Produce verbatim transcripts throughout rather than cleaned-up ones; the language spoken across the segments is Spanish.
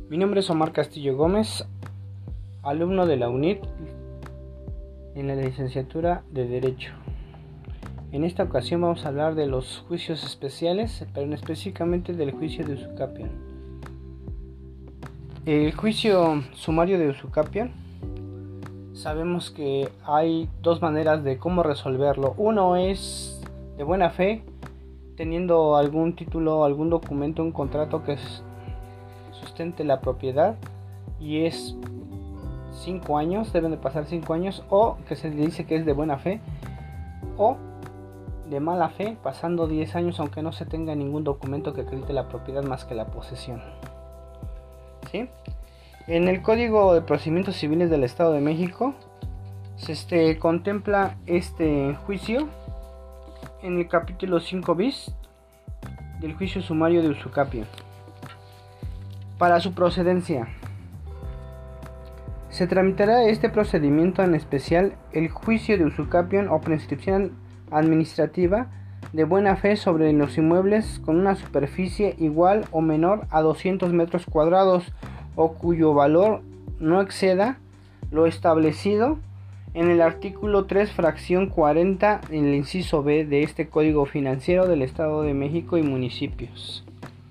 Mi nombre es Omar Castillo Gómez, alumno de la UNIT en la licenciatura de Derecho. En esta ocasión vamos a hablar de los juicios especiales, pero específicamente del juicio de usucapión. El juicio sumario de usucapión, sabemos que hay dos maneras de cómo resolverlo. Uno es de buena fe, teniendo algún título, algún documento, un contrato que sustente la propiedad, y es cinco años, deben de pasar cinco años, o que se le dice que es de buena fe, o de mala fe, pasando diez años aunque no se tenga ningún documento que acredite la propiedad más que la posesión. ¿Sí? En el Código de Procedimientos Civiles del Estado de México se este, contempla este juicio en el capítulo cinco bis del juicio sumario de usucapión. Para su procedencia, se tramitará este procedimiento, en especial el juicio de usucapión o prescripción administrativa de buena fe sobre los inmuebles con una superficie igual o menor a doscientos metros cuadrados o cuyo valor no exceda lo establecido en el artículo tres, fracción cuarenta, en el inciso B de este Código Financiero del Estado de México y municipios.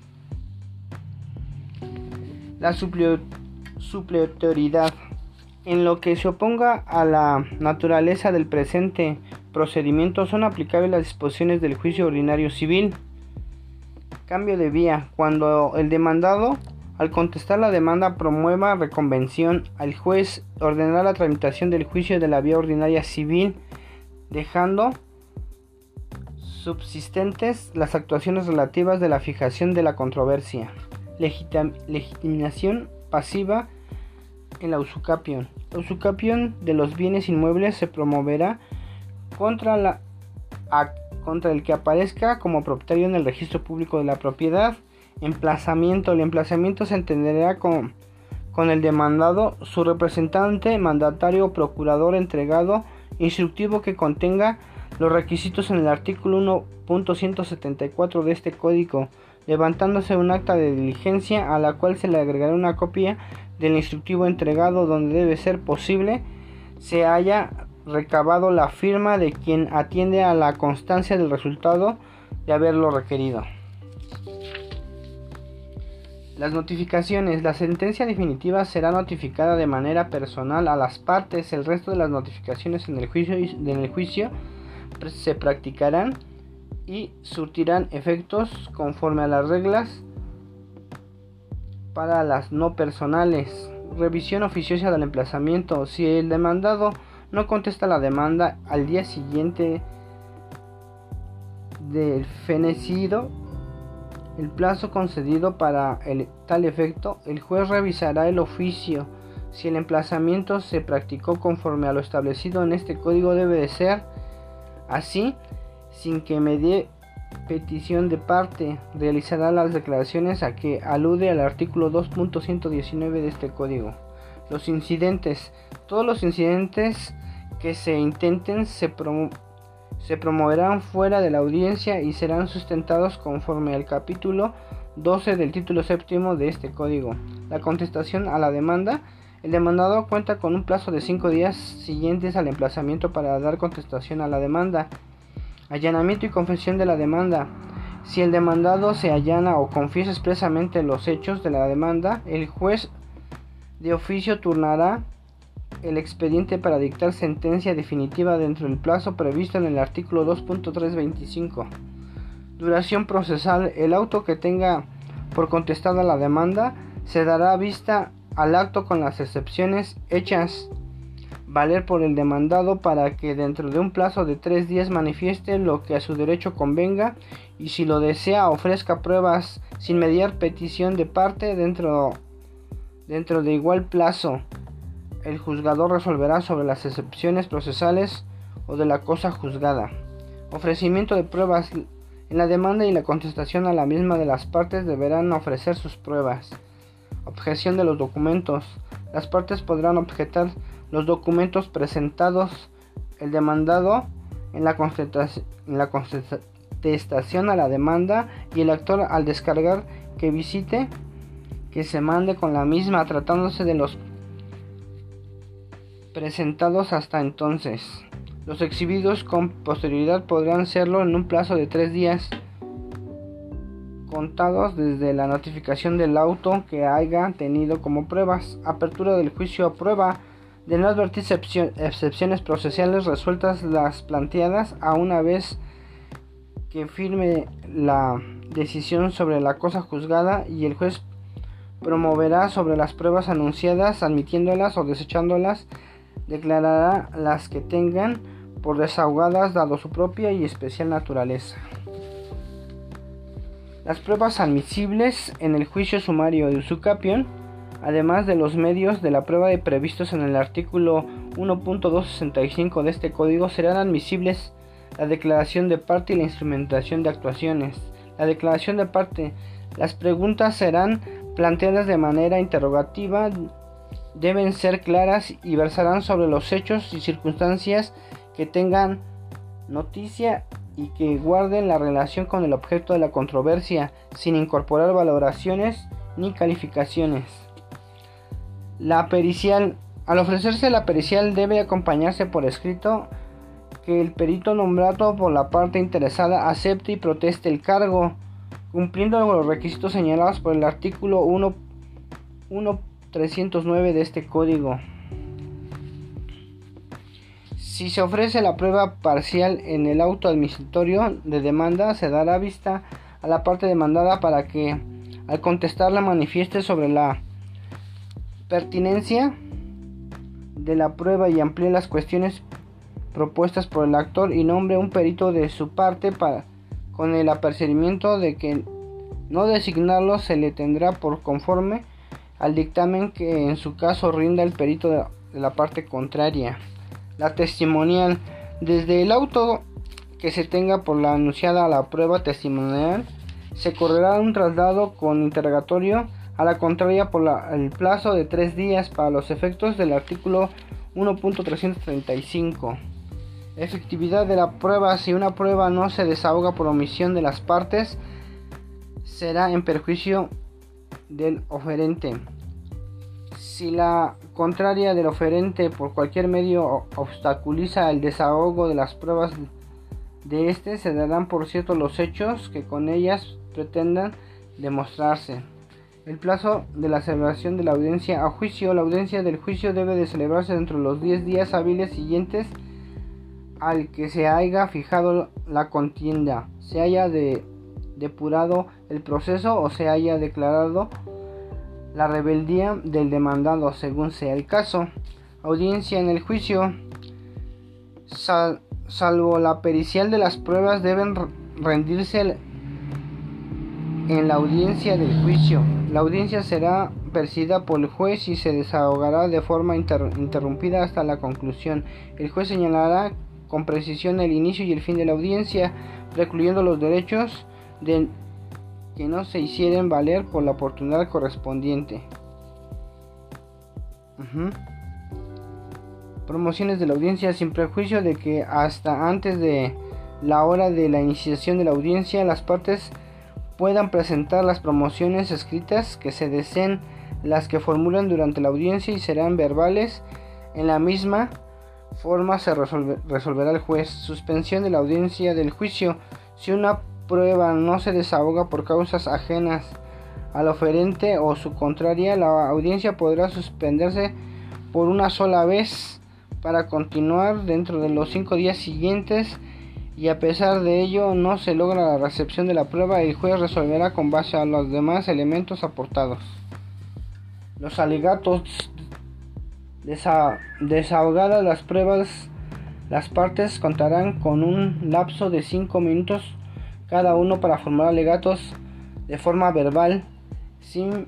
La supletoriedad. En lo que se oponga a la naturaleza del presente procedimiento son aplicables las disposiciones del juicio ordinario civil. Cambio de vía. Cuando el demandado, al contestar la demanda, promueva reconvención, al juez ordenará la tramitación del juicio de la vía ordinaria civil, dejando subsistentes las actuaciones relativas de la fijación de la controversia. Legitim- legitimación pasiva en la usucapión. La usucapión de los bienes inmuebles se promoverá contra, la, a, contra el que aparezca como propietario en el registro público de la propiedad. Emplazamiento. El emplazamiento se entenderá con, con el demandado, su representante, mandatario o procurador entregado, instructivo que contenga los requisitos en el artículo uno punto ciento setenta y cuatro de este código, levantándose un acta de diligencia a la cual se le agregará una copia del instructivo entregado, donde debe ser posible se haya recabado la firma de quien atiende a la constancia del resultado de haberlo requerido. Las notificaciones. La sentencia definitiva será notificada de manera personal a las partes. El resto de las notificaciones en el juicio, en el juicio se practicarán y surtirán efectos conforme a las reglas para las no personales. Revisión oficiosa del emplazamiento. Si el demandado no contesta la demanda al día siguiente del fenecido el plazo concedido para el, tal efecto, el juez revisará el oficio. Si el emplazamiento se practicó conforme a lo establecido en este código, debe de ser así, sin que medie petición de parte. Realizará las declaraciones a que alude al artículo dos punto ciento diecinueve de este código. Los incidentes. Todos los incidentes que se intenten se, promo se promoverán fuera de la audiencia y serán sustentados conforme al capítulo doce del título séptimo de este código. La contestación a la demanda. El demandado cuenta con un plazo de cinco días siguientes al emplazamiento para dar contestación a la demanda. Allanamiento y confesión de la demanda. Si el demandado se allana o confiesa expresamente los hechos de la demanda, el juez de oficio turnará el expediente para dictar sentencia definitiva dentro del plazo previsto en el artículo dos punto trescientos veinticinco. Duración procesal. El auto que tenga por contestada la demanda se dará vista al acto con las excepciones hechas valer por el demandado para que dentro de un plazo de tres días manifieste lo que a su derecho convenga, y si lo desea ofrezca pruebas sin mediar petición de parte dentro, dentro de igual plazo. El juzgador resolverá sobre las excepciones procesales o de la cosa juzgada. Ofrecimiento de pruebas. En la demanda y la contestación a la misma de las partes deberán ofrecer sus pruebas. Objeción de los documentos. Las partes podrán objetar los documentos presentados. El demandado en la contestación, en la contestación a la demanda, y el actor al descargar que visite que se mande con la misma, tratándose de los presentados hasta entonces. Los exhibidos con posterioridad podrán serlo en un plazo de tres días contados desde la notificación del auto que haya tenido como pruebas. Apertura del juicio a prueba. De no advertirse excepciones procesales resueltas las planteadas, a una vez que firme la decisión sobre la cosa juzgada, y el juez promoverá sobre las pruebas anunciadas, admitiéndolas o desechándolas, declarará las que tengan por desahogadas dado su propia y especial naturaleza. Las pruebas admisibles en el juicio sumario de usu capión, además de los medios de la prueba de previstos en el artículo uno punto doscientos sesenta y cinco de este código, serán admisibles la declaración de parte y la instrumentación de actuaciones. La declaración de parte. Las preguntas serán planteadas de manera interrogativa, deben ser claras y versarán sobre los hechos y circunstancias que tengan noticia y que guarden la relación con el objeto de la controversia, sin incorporar valoraciones ni calificaciones. La pericial. Al ofrecerse la pericial debe acompañarse por escrito que el perito nombrado por la parte interesada acepte y proteste el cargo, cumpliendo los requisitos señalados por el artículo uno punto trescientos nueve de este código. Si se ofrece la prueba parcial en el auto admisitorio de demanda, se dará vista a la parte demandada para que, al contestarla, manifieste sobre la pertinencia de la prueba y amplíe las cuestiones propuestas por el actor, y nombre un perito de su parte para, con el apercibimiento de que no designarlo se le tendrá por conforme al dictamen que en su caso rinda el perito de la parte contraria. La testimonial. Desde el auto que se tenga por la anunciada a la prueba testimonial, se correrá un traslado con interrogatorio a la contraria por la, el plazo de tres días para los efectos del artículo uno punto trescientos treinta y cinco. Efectividad de la prueba. Si una prueba no se desahoga por omisión de las partes, será en perjuicio del oferente. Si la contraria del oferente por cualquier medio obstaculiza el desahogo de las pruebas de este, se darán por cierto los hechos que con ellas pretendan demostrarse. El plazo de la celebración de la audiencia a juicio. La audiencia del juicio debe de celebrarse dentro de los diez días hábiles siguientes al que se haya fijado la contienda, se haya de, depurado el proceso o se haya declarado la rebeldía del demandado, según sea el caso. Audiencia en el juicio. Sal, salvo la pericial de las pruebas, deben rendirse en la audiencia del juicio. La audiencia será presidida por el juez y se desahogará de forma inter, interrumpida hasta la conclusión. El juez señalará con precisión el inicio y el fin de la audiencia, precluyendo los derechos de que no se hicieren valer por la oportunidad correspondiente. Uh-huh. Promociones de la audiencia. Sin prejuicio de que hasta antes de la hora de la iniciación de la audiencia las partes puedan presentar las promociones escritas que se deseen, las que formulan durante la audiencia y serán verbales. En la misma forma se resolve, resolverá el juez. Suspensión de la audiencia del juicio. Si una prueba no se desahoga por causas ajenas al oferente o su contraria, la audiencia podrá suspenderse por una sola vez para continuar dentro de los cinco días siguientes, y a pesar de ello no se logra la recepción de la prueba, el juez resolverá con base a los demás elementos aportados. Los alegatos. Desa- desahogadas las pruebas, las partes contarán con un lapso de cinco minutos cada uno para formular alegatos de forma verbal, sin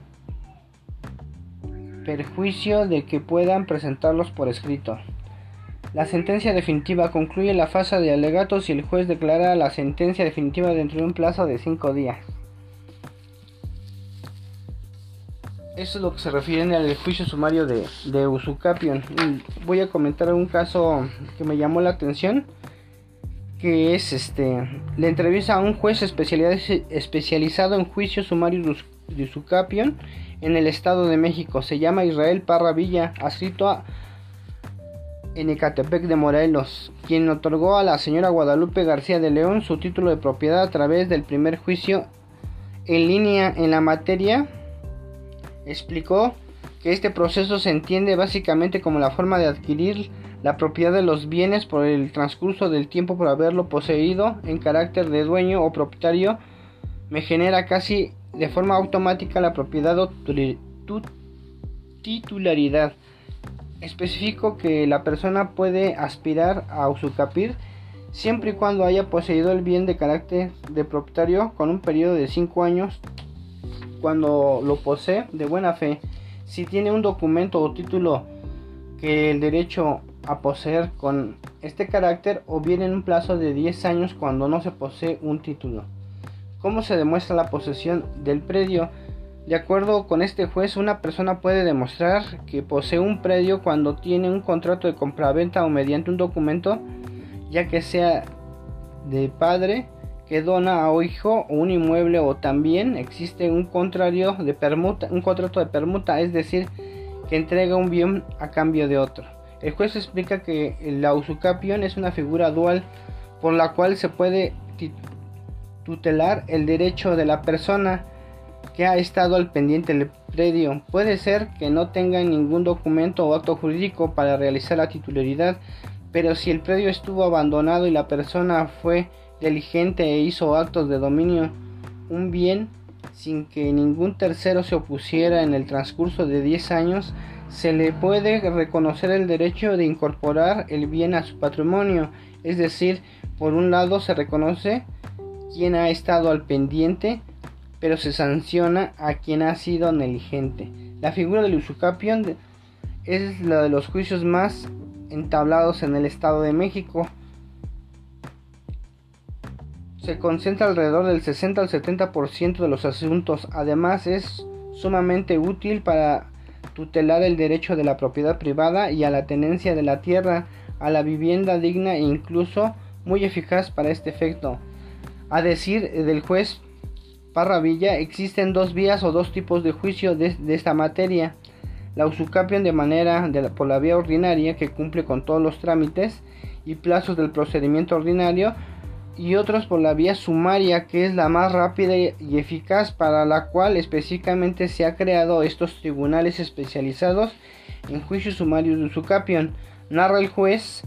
perjuicio de que puedan presentarlos por escrito. La sentencia definitiva. Concluye la fase de alegatos y el juez declara la sentencia definitiva dentro de un plazo de cinco días. Eso es lo que se refiere al juicio sumario de, de usu capión. Voy a comentar un caso que me llamó la atención, que es este la entrevista a un juez especializado en juicio sumario de usu capión en el Estado de México. Se llama Israel Parra Villa, adscrito a en Ecatepec de Morelos, quien otorgó a la señora Guadalupe García de León su título de propiedad a través del primer juicio en línea en la materia. Explicó que este proceso se entiende básicamente como la forma de adquirir la propiedad de los bienes por el transcurso del tiempo por haberlo poseído en carácter de dueño o propietario. Me genera casi de forma automática la propiedad o titularidad. Especifico que la persona puede aspirar a usufructuar siempre y cuando haya poseído el bien de carácter de propietario con un periodo de cinco años cuando lo posee de buena fe. Si tiene un documento o título que el derecho a poseer con este carácter, o bien en un plazo de diez años cuando no se posee un título. ¿Cómo se demuestra la posesión del predio? De acuerdo con este juez, una persona puede demostrar que posee un predio cuando tiene un contrato de compraventa o mediante un documento, ya que sea de padre que dona a hijo o un inmueble, o también existe un contrario de permuta, un contrato de permuta, es decir, que entrega un bien a cambio de otro. El juez explica que la usucapión es una figura dual por la cual se puede tutelar el derecho de la persona que ha estado al pendiente del predio. Puede ser que no tenga ningún documento o acto jurídico para realizar la titularidad, pero si el predio estuvo abandonado y la persona fue diligente e hizo actos de dominio un bien sin que ningún tercero se opusiera en el transcurso de diez años, se le puede reconocer el derecho de incorporar el bien a su patrimonio. Es decir, por un lado se reconoce quien ha estado al pendiente, pero se sanciona a quien ha sido negligente. La figura del usucapión es la de los juicios más entablados en el Estado de México. Se concentra alrededor del sesenta al setenta por ciento de los asuntos. Además, es sumamente útil para tutelar el derecho de la propiedad privada y a la tenencia de la tierra, a la vivienda digna e incluso muy eficaz para este efecto. A decir del juez Parra Villa, existen dos vías o dos tipos de juicio de, de esta materia: la usucapión de manera de la, por la vía ordinaria, que cumple con todos los trámites y plazos del procedimiento ordinario, y otros por la vía sumaria, que es la más rápida y eficaz, para la cual específicamente se ha creado estos tribunales especializados en juicios sumarios de usucapión. Narra el juez,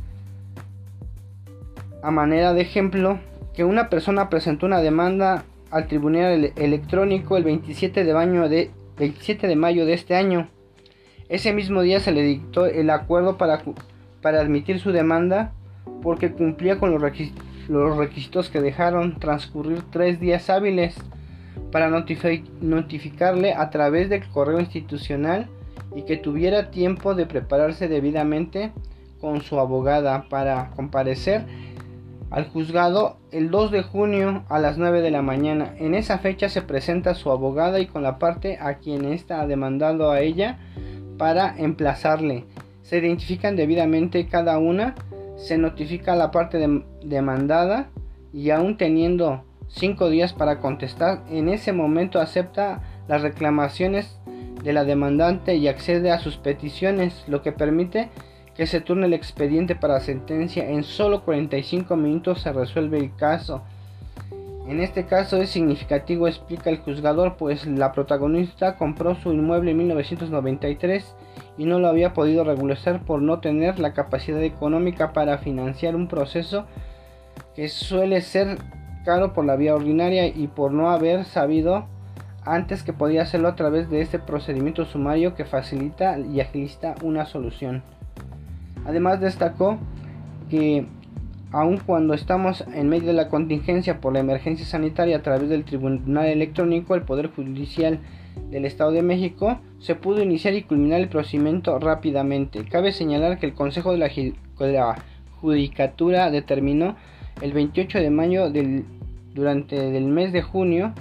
a manera de ejemplo, que una persona presentó una demanda al tribunal electrónico el veintisiete de mayo de, veintisiete de mayo de este año. Ese mismo día se le dictó el acuerdo para, para admitir su demanda, porque cumplía con los requisitos los requisitos que dejaron transcurrir tres días hábiles para notific- notificarle a través del correo institucional, y que tuviera tiempo de prepararse debidamente con su abogada para comparecer al juzgado el dos de junio a las nueve de la mañana. En esa fecha se presenta su abogada y con la parte a quien está demandando a ella para emplazarle. Se identifican debidamente cada una. Se notifica a la parte de, demandada, y aún teniendo cinco días para contestar, en ese momento acepta las reclamaciones de la demandante y accede a sus peticiones, lo que permite que se turne el expediente para sentencia. En solo cuarenta y cinco minutos se resuelve el caso. En este caso es significativo, explica el juzgador, pues la protagonista compró su inmueble en mil novecientos noventa y tres y no lo había podido regularizar por no tener la capacidad económica para financiar un proceso que suele ser caro por la vía ordinaria, y por no haber sabido antes que podía hacerlo a través de este procedimiento sumario que facilita y agiliza una solución. Además, destacó que aun cuando estamos en medio de la contingencia por la emergencia sanitaria, a través del Tribunal Electrónico, el Poder Judicial del Estado de México se pudo iniciar y culminar el procedimiento rápidamente. Cabe señalar que el Consejo de la, de la Judicatura determinó el veintiocho de mayo del, durante el mes de junio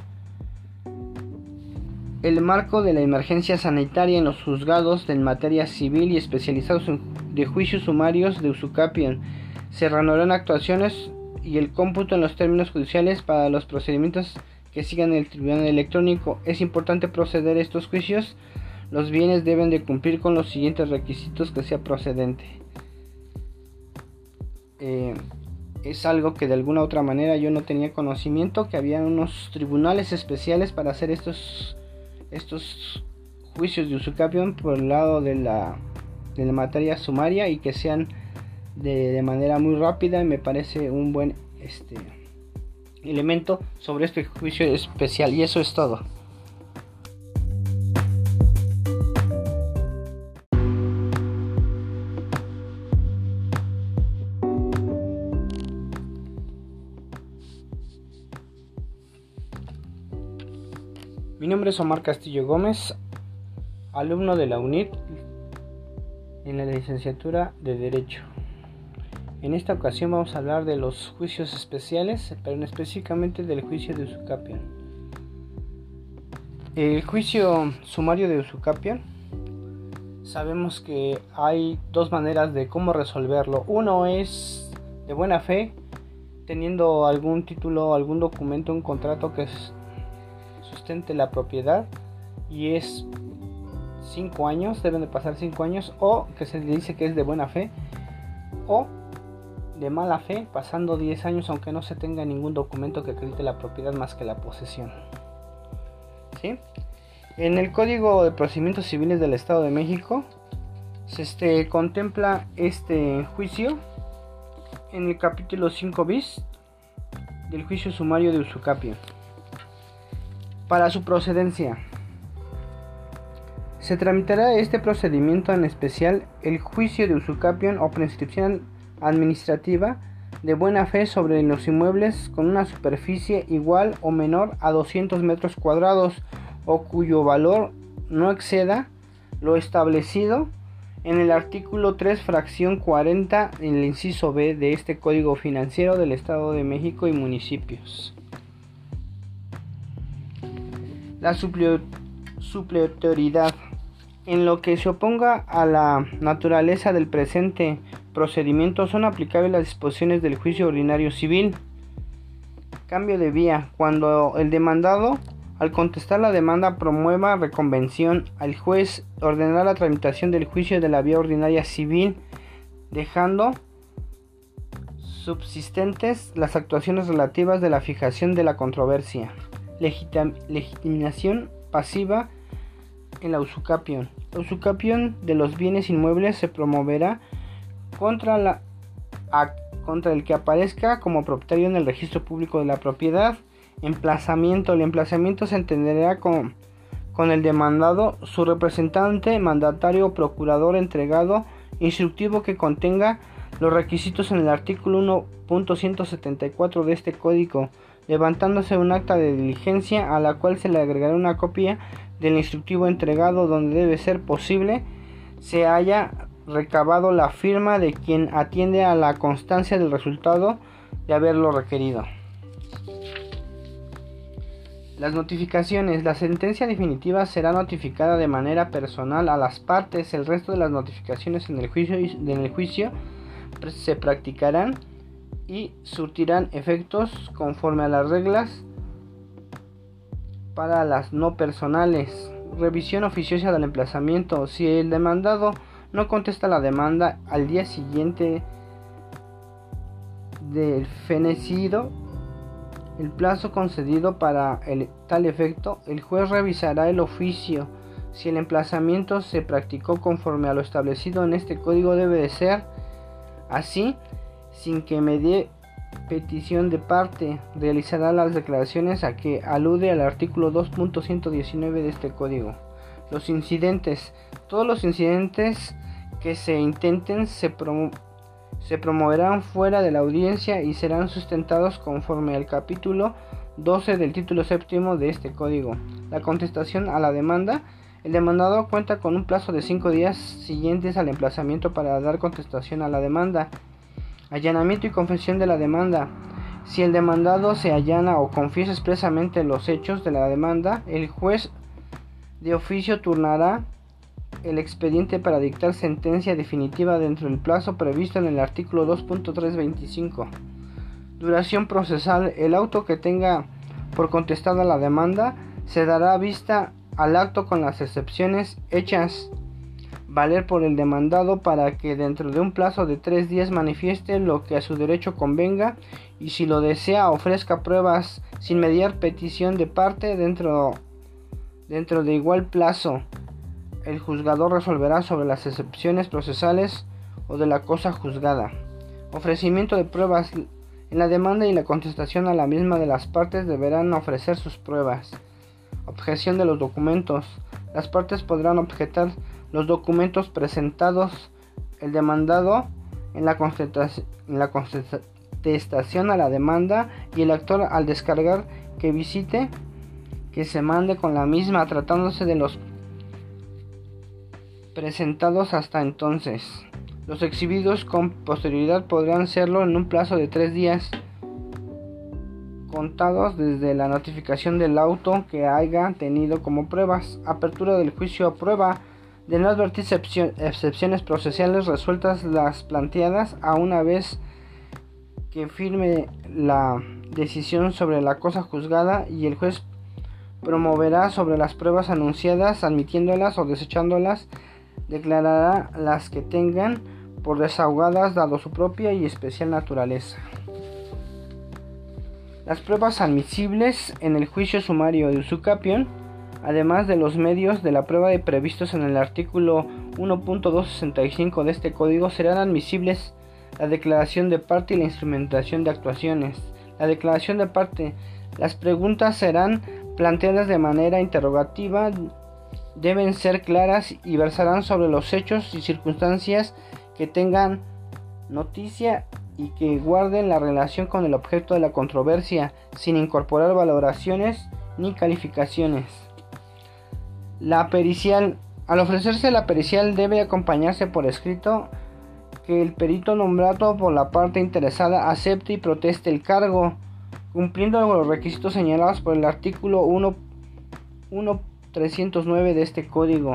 el marco de la emergencia sanitaria en los juzgados de materia civil y especializados en, de juicios sumarios de usucapión. Se reanudaron actuaciones y el cómputo en los términos judiciales para los procedimientos que sigan el tribunal electrónico. Es importante proceder a estos juicios. Los bienes deben de cumplir con los siguientes requisitos que sea procedente. Eh, es algo que de alguna u otra manera yo no tenía conocimiento, que había unos tribunales especiales para hacer estos, estos juicios de usucapión por el lado de la, de la materia sumaria, y que sean de, de manera muy rápida. Me parece un buen este, elemento sobre este juicio especial, y eso es todo. Mi nombre es Omar Castillo Gómez, alumno de la U N I T en la licenciatura de Derecho. En esta ocasión vamos a hablar de los juicios especiales, pero específicamente del juicio de usucapión. El juicio sumario de usucapión, sabemos que hay dos maneras de cómo resolverlo. Uno es de buena fe, teniendo algún título, algún documento, un contrato que sustente la propiedad, y es cinco años, deben de pasar cinco años, o que se le dice que es de buena fe, o de mala fe, pasando diez años aunque no se tenga ningún documento que acredite la propiedad más que la posesión. ¿Sí? En el Código de Procedimientos Civiles del Estado de México se este, contempla este juicio en el capítulo cinco bis del juicio sumario de usucapión. Para su procedencia, se tramitará este procedimiento, en especial el juicio de usucapión o prescripción administrativa de buena fe sobre los inmuebles con una superficie igual o menor a doscientos metros cuadrados, o cuyo valor no exceda lo establecido en el artículo tres, fracción cuarenta, en el inciso B de este Código Financiero del Estado de México y municipios. La supletoriedad. En lo que se oponga a la naturaleza del presente procedimiento, son aplicables las disposiciones del juicio ordinario civil. Cambio de vía. Cuando el demandado, al contestar la demanda, promueva reconvención, al juez ordenará la tramitación del juicio de la vía ordinaria civil, dejando subsistentes las actuaciones relativas de la fijación de la controversia. Legitim- legitimación pasiva en la usucapión. La usucapión de los bienes inmuebles se promoverá contra, la, a, contra el que aparezca como propietario en el registro público de la propiedad. Emplazamiento. El emplazamiento se entenderá con, con el demandado, su representante, mandatario o procurador entregado, instructivo que contenga los requisitos en el artículo uno punto ciento setenta y cuatro de este código, levantándose un acta de diligencia a la cual se le agregará una copia del instructivo entregado, donde debe ser posible se haya recabado la firma de quien atiende a la constancia del resultado de haberlo requerido. Las notificaciones. La sentencia definitiva será notificada de manera personal a las partes. El resto de las notificaciones en el juicio, en el juicio se practicarán y surtirán efectos conforme a las reglas para las no personales. Revisión oficiosa del emplazamiento. Si el demandado no contesta la demanda al día siguiente del fenecido el plazo concedido para el, tal efecto, el juez revisará el oficio. Si el emplazamiento se practicó conforme a lo establecido en este código, debe de ser así, sin que medie petición de parte. Realizará las declaraciones a que alude al artículo dos punto ciento diecinueve de este código. Los incidentes. Todos los incidentes que se intenten se, promo se promoverán fuera de la audiencia y serán sustentados conforme al capítulo doce del título séptimo de este código. La contestación a la demanda. El demandado cuenta con un plazo de cinco días siguientes al emplazamiento para dar contestación a la demanda. Allanamiento y confesión de la demanda. Si el demandado se allana o confiesa expresamente los hechos de la demanda, el juez de oficio turnará el expediente para dictar sentencia definitiva dentro del plazo previsto en el artículo dos punto trescientos veinticinco. Duración procesal. El auto que tenga por contestada la demanda, se dará vista al acto con las excepciones hechas valer por el demandado para que dentro de un plazo de tres días manifieste lo que a su derecho convenga y, si lo desea, ofrezca pruebas sin mediar petición de parte dentro, dentro de igual plazo. El juzgador resolverá sobre las excepciones procesales o de la cosa juzgada. Ofrecimiento de pruebas. En la demanda y la contestación a la misma de las partes deberán ofrecer sus pruebas. Objeción de los documentos. Las partes podrán objetar los documentos presentados el demandado en la contestación, en la contestación a la demanda, y el actor al descargar que visite que se mande con la misma, tratándose de los presentados hasta entonces. Los exhibidos con posterioridad podrán serlo en un plazo de tres días contados desde la notificación del auto que haya tenido como pruebas. Apertura del juicio a prueba. De no advertir excepciones procesales resueltas las planteadas, a una vez que firme la decisión sobre la cosa juzgada, y el juez promoverá sobre las pruebas anunciadas, admitiéndolas o desechándolas, declarará las que tengan por desahogadas dado su propia y especial naturaleza. Las pruebas admisibles en el juicio sumario de usucapión, además de los medios de la prueba de previstos en el artículo uno punto doscientos sesenta y cinco de este código, serán admisibles la declaración de parte y la instrumentación de actuaciones. La declaración de parte. Las preguntas serán planteadas de manera interrogativa, deben ser claras y versarán sobre los hechos y circunstancias que tengan noticia y que guarden la relación con el objeto de la controversia, sin incorporar valoraciones ni calificaciones. La pericial. Al ofrecerse la pericial debe acompañarse por escrito que el perito nombrado por la parte interesada acepte y proteste el cargo, cumpliendo los requisitos señalados por el artículo uno punto trescientos nueve de este código.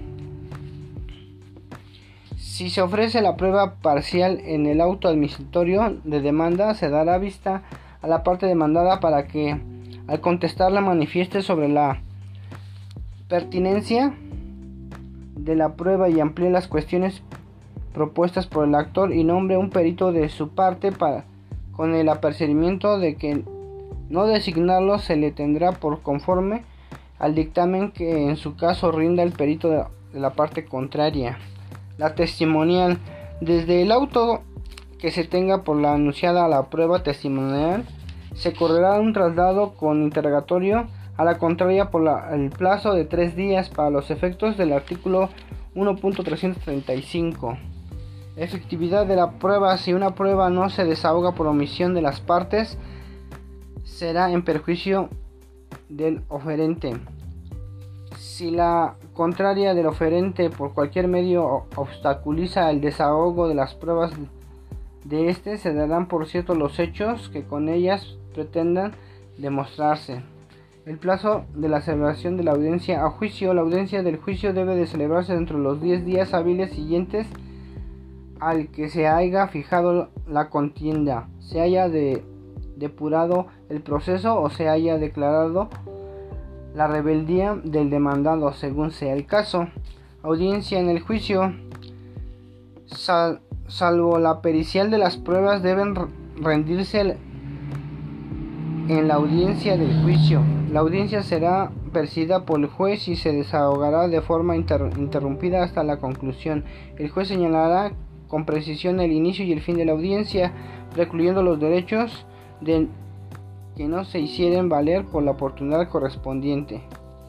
Si se ofrece la prueba parcial en el auto admisitorio de demanda, se dará vista a la parte demandada para que, al contestarla, manifieste sobre la pertinencia de la prueba y amplíe las cuestiones propuestas por el actor, y nombre un perito de su parte para, con el apercibimiento de que no designarlo se le tendrá por conforme al dictamen que en su caso rinda el perito de la parte contraria. La testimonial. Desde el auto que se tenga por la anunciada a la prueba testimonial, se correrá un traslado con interrogatorio a la contraria por la, el plazo de tres días para los efectos del artículo uno punto trescientos treinta y cinco. Efectividad de la prueba. Si una prueba no se desahoga por omisión de las partes, será en perjuicio del oferente. Si la contraria del oferente por cualquier medio obstaculiza el desahogo de las pruebas de este, se darán por cierto los hechos que con ellas pretendan demostrarse. El plazo de la celebración de la audiencia a juicio. La audiencia del juicio debe de celebrarse dentro de los diez días hábiles siguientes al que se haya fijado la contienda, se haya de, depurado el proceso o se haya declarado la rebeldía del demandado, según sea el caso. Audiencia en el juicio. Sal, salvo la pericial de las pruebas, deben rendirse en la audiencia del juicio. La audiencia será presidida por el juez y se desahogará de forma inter, interrumpida hasta la conclusión. El juez señalará con precisión el inicio y el fin de la audiencia, precluyendo los derechos de que no se hicieren valer por la oportunidad correspondiente.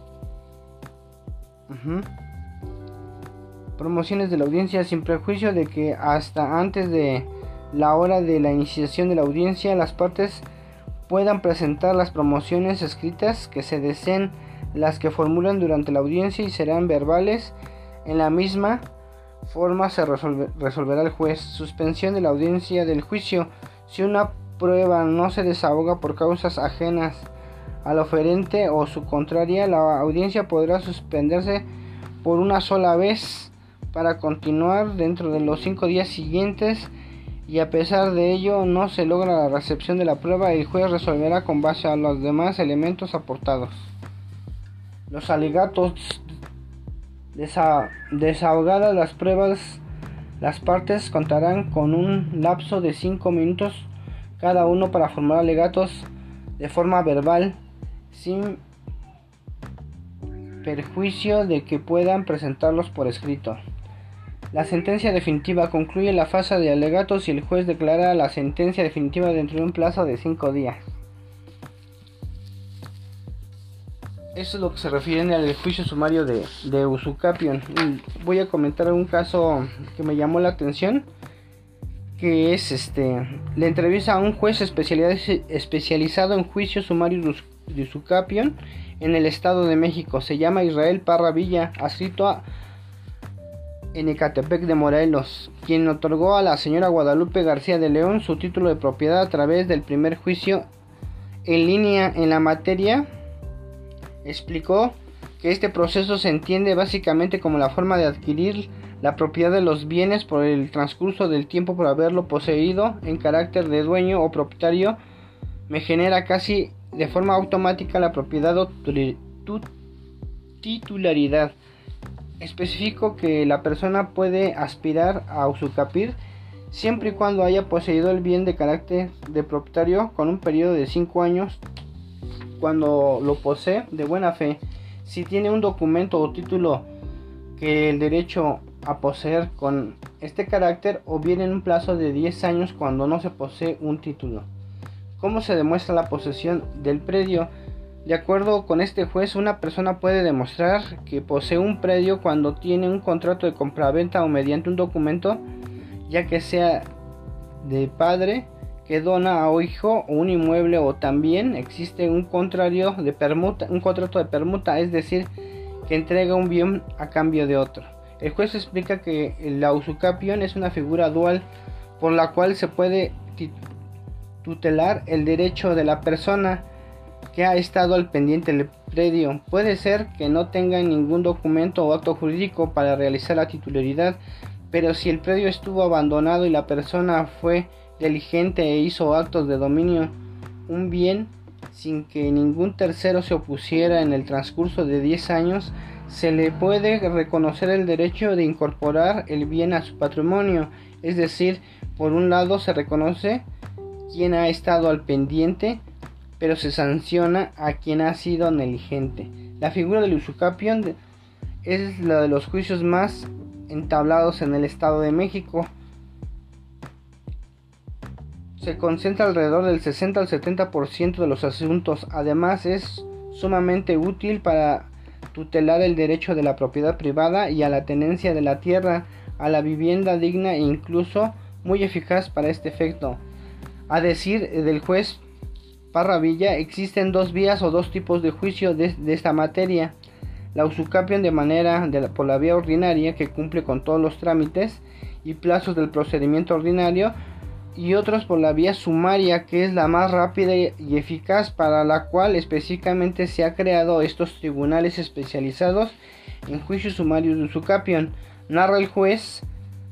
Uh-huh. Promociones de la audiencia. Sin prejuicio de que hasta antes de la hora de la iniciación de la audiencia las partes puedan presentar las promociones escritas que se deseen, las que formulan durante la audiencia, y serán verbales. En la misma forma se resolve, resolverá el juez. Suspensión de la audiencia del juicio. Si una prueba no se desahoga por causas ajenas al oferente o su contraria, la audiencia podrá suspenderse por una sola vez para continuar dentro de los cinco días siguientes, y a pesar de ello no se logra la recepción de la prueba, el juez resolverá con base a los demás elementos aportados. Los alegatos. Desa- desahogadas las pruebas, las partes contarán con un lapso de cinco minutos cada uno para formular alegatos de forma verbal, sin perjuicio de que puedan presentarlos por escrito. La sentencia definitiva concluye la fase de alegatos y el juez declara la sentencia definitiva dentro de un plazo de cinco días. Eso es lo que se refiere al juicio sumario de, de usucapión. Voy a comentar un caso que me llamó la atención, que es este la entrevista a un juez especializado en juicio sumario de usucapión en el Estado de México. Se llama Israel Parra Villa, adscrito a en Ecatepec de Morelos, quien otorgó a la señora Guadalupe García de León su título de propiedad a través del primer juicio en línea en la materia. Explicó que este proceso se entiende básicamente como la forma de adquirir la propiedad de los bienes por el transcurso del tiempo por haberlo poseído en carácter de dueño o propietario. Me genera casi de forma automática la propiedad o titularidad. Especifico que la persona puede aspirar a usucapir siempre y cuando haya poseído el bien de carácter de propietario con un periodo de cinco años cuando lo posee de buena fe. Si tiene un documento o título que el derecho a poseer con este carácter, o bien en un plazo de diez años cuando no se posee un título. ¿Cómo se demuestra la posesión del predio? De acuerdo con este juez, una persona puede demostrar que posee un predio cuando tiene un contrato de compraventa o mediante un documento, ya que sea de padre que dona a hijo o un inmueble, o también existe un contrario de permuta, un contrato de permuta, es decir, que entrega un bien a cambio de otro. El juez explica que la usucapión es una figura dual por la cual se puede tutelar el derecho de la persona que ha estado al pendiente del predio. Puede ser que no tenga ningún documento o acto jurídico para realizar la titularidad, pero si el predio estuvo abandonado y la persona fue diligente e hizo actos de dominio un bien sin que ningún tercero se opusiera en el transcurso de diez años, se le puede reconocer el derecho de incorporar el bien a su patrimonio. Es decir, por un lado se reconoce quien ha estado al pendiente, pero se sanciona a quien ha sido negligente. La figura del usucapión es la de los juicios más entablados en el Estado de México. Se concentra alrededor del sesenta al setenta por ciento de los asuntos. Además, es sumamente útil para tutelar el derecho de la propiedad privada y a la tenencia de la tierra, a la vivienda digna e incluso muy eficaz para este efecto. A decir del juez Parra Villa, existen dos vías o dos tipos de juicio de, de esta materia: la usucapión de manera de la, por la vía ordinaria, que cumple con todos los trámites y plazos del procedimiento ordinario, y otros por la vía sumaria, que es la más rápida y eficaz, para la cual específicamente se ha creado estos tribunales especializados en juicios sumarios de usucapión. Narra el juez,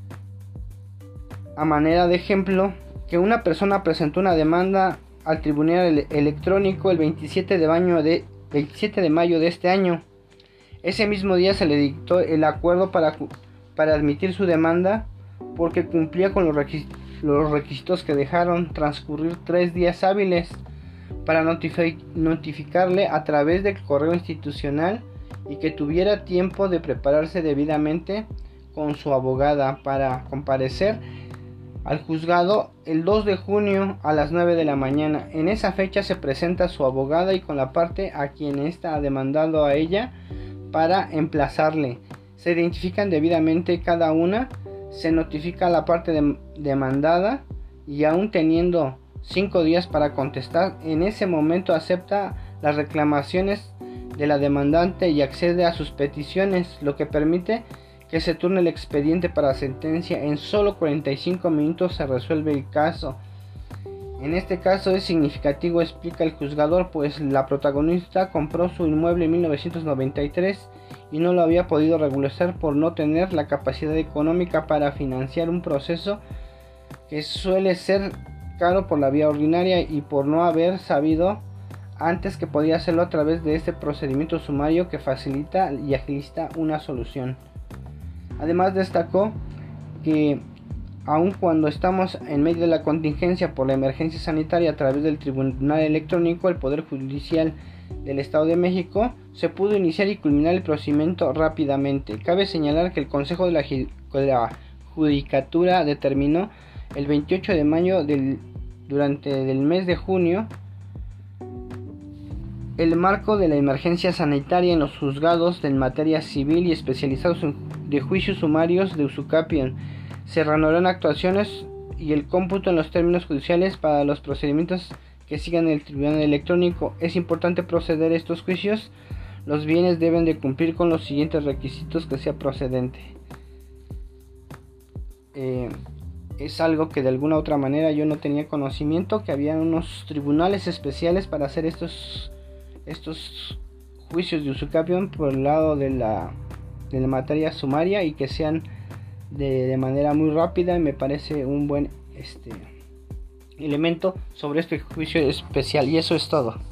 a manera de ejemplo, que una persona presentó una demanda al tribunal electrónico el veintisiete de mayo de, veintisiete de mayo de este año. Ese mismo día se le dictó el acuerdo para, para admitir su demanda, porque cumplía con los requisitos los requisitos que dejaron transcurrir tres días hábiles para notifi- notificarle a través del correo institucional, y que tuviera tiempo de prepararse debidamente con su abogada para comparecer al juzgado el dos de junio a las nueve de la mañana. En esa fecha se presenta su abogada y con la parte a quien está demandando a ella para emplazarle. Se identifican debidamente cada una, se notifica a la parte de, demandada, y aún teniendo cinco días para contestar, en ese momento acepta las reclamaciones de la demandante y accede a sus peticiones, lo que permite que se turne el expediente para sentencia. En solo cuarenta y cinco minutos se resuelve el caso. En este caso es significativo, explica el juzgador, pues la protagonista compró su inmueble en mil novecientos noventa y tres y no lo había podido regularizar por no tener la capacidad económica para financiar un proceso que suele ser caro por la vía ordinaria y por no haber sabido antes que podía hacerlo a través de este procedimiento sumario que facilita y agiliza una solución. Además destacó que aun cuando estamos en medio de la contingencia por la emergencia sanitaria a través del Tribunal Electrónico, el Poder Judicial del Estado de México se pudo iniciar y culminar el procedimiento rápidamente. Cabe señalar que el Consejo de la, de la Judicatura determinó el veintiocho de mayo del, durante el mes de junio el marco de la emergencia sanitaria en los juzgados en materia civil y especializados de juicios sumarios de usucapión. Se reanudarán actuaciones y el cómputo en los términos judiciales para los procedimientos que sigan el Tribunal Electrónico. Es importante proceder a estos juicios. Los bienes deben de cumplir con los siguientes requisitos que sea procedente. Eh, es algo que de alguna otra manera yo no tenía conocimiento, que había unos tribunales especiales para hacer estos estos juicios de usucapión por el lado de la, de la materia sumaria y que sean de, de manera muy rápida. Y me parece un buen este elemento sobre este juicio especial, y eso es todo.